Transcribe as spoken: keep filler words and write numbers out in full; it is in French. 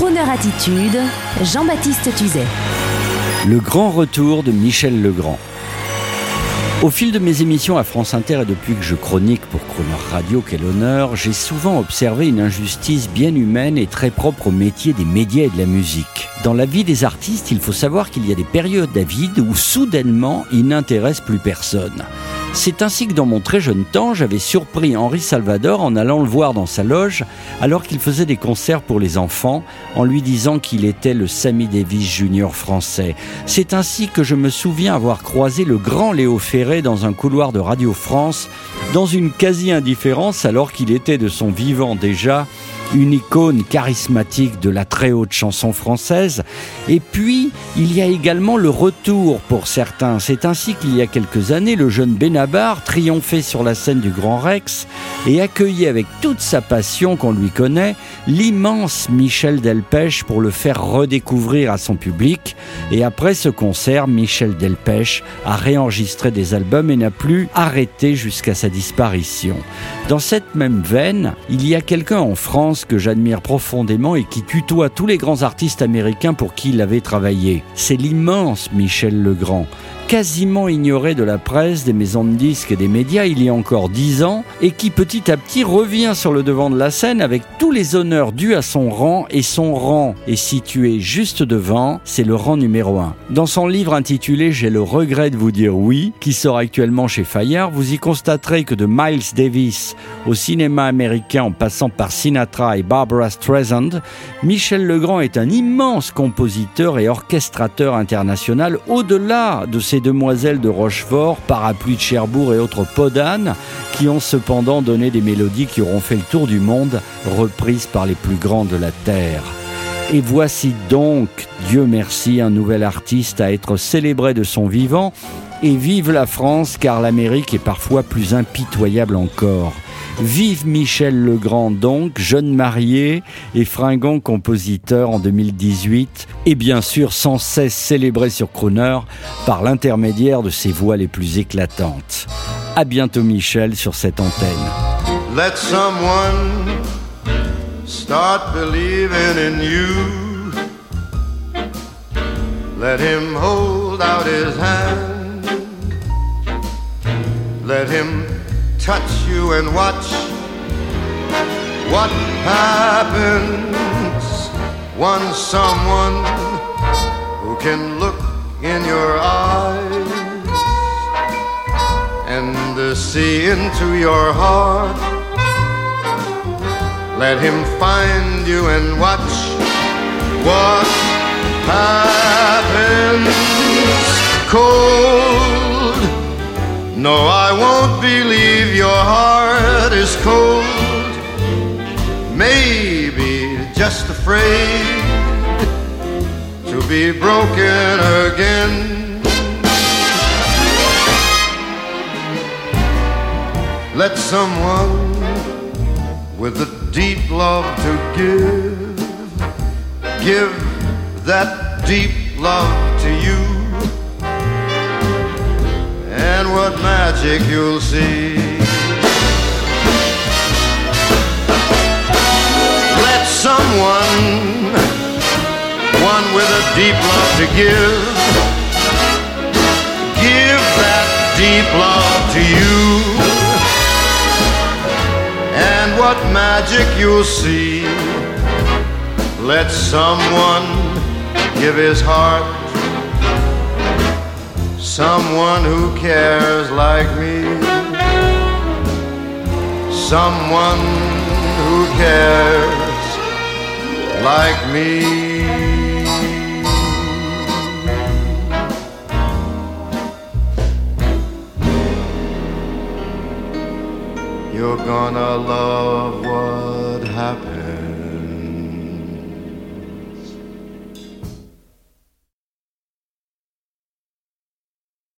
Crooner Attitude, Jean-Baptiste Tuzet. Le grand retour de Michel Legrand. Au fil de mes émissions à France Inter et depuis que je chronique pour Crooner Radio, quel honneur, j'ai souvent observé une injustice bien humaine et très propre au métier des médias et de la musique. Dans la vie des artistes, il faut savoir qu'il y a des périodes à vide où soudainement ils n'intéressent plus personne. C'est ainsi que dans mon très jeune temps, j'avais surpris Henri Salvador en allant le voir dans sa loge alors qu'il faisait des concerts pour les enfants en lui disant qu'il était le Sammy Davis Junior français. C'est ainsi que je me souviens avoir croisé le grand Léo Ferré dans un couloir de Radio France dans une quasi-indifférence alors qu'il était de son vivant déjà une icône charismatique de la très haute chanson française. Et puis, il y a également le retour pour certains. C'est ainsi qu'il y a quelques années, le jeune Benabar triomphait sur la scène du Grand Rex et accueillait avec toute sa passion qu'on lui connaît l'immense Michel Delpech pour le faire redécouvrir à son public. Et après ce concert, Michel Delpech a réenregistré des albums et n'a plus arrêté jusqu'à sa disparition. Dans cette même veine, il y a quelqu'un en France que j'admire profondément et qui tutoie tous les grands artistes américains pour qui il avait travaillé. C'est l'immense Michel Legrand, quasiment ignoré de la presse, des maisons de disques et des médias il y a encore dix ans, et qui petit à petit revient sur le devant de la scène avec tous les honneurs dus à son rang, et son rang est situé juste devant, c'est le rang numéro un. Dans son livre intitulé « J'ai le regret de vous dire oui », qui sort actuellement chez Fayard, vous y constaterez que de Miles Davis au cinéma américain en passant par Sinatra et Barbra Streisand, Michel Legrand est un immense compositeur et orchestrateur international au-delà de ses demoiselles de Rochefort, Parapluie de Cherbourg et autres Podane, qui ont cependant donné des mélodies qui auront fait le tour du monde, reprises par les plus grands de la terre. Et voici donc, Dieu merci, un nouvel artiste à être célébré de son vivant. Et vive la France, car l'Amérique est parfois plus impitoyable encore. Vive Michel Legrand donc, jeune marié et fringant compositeur en deux mille dix-huit, et bien sûr sans cesse célébré sur Crooner par l'intermédiaire de ses voix les plus éclatantes. À bientôt Michel sur cette antenne. Let someone start believing in you. Let him hold out his hand. Let him touch you and watch what happens once someone who can look in your eyes and uh, see into your heart. Let him find you and watch what happens. Cold, no, I won't believe your heart is cold. Maybe just afraid to be broken again. Let someone with a deep love to give, give that deep love to you. And what magic you'll see. Let someone, one with a deep love to give, give that deep love to you. And what magic you'll see. Let someone give his heart, someone who cares like me, someone who cares like me. You're gonna love what happens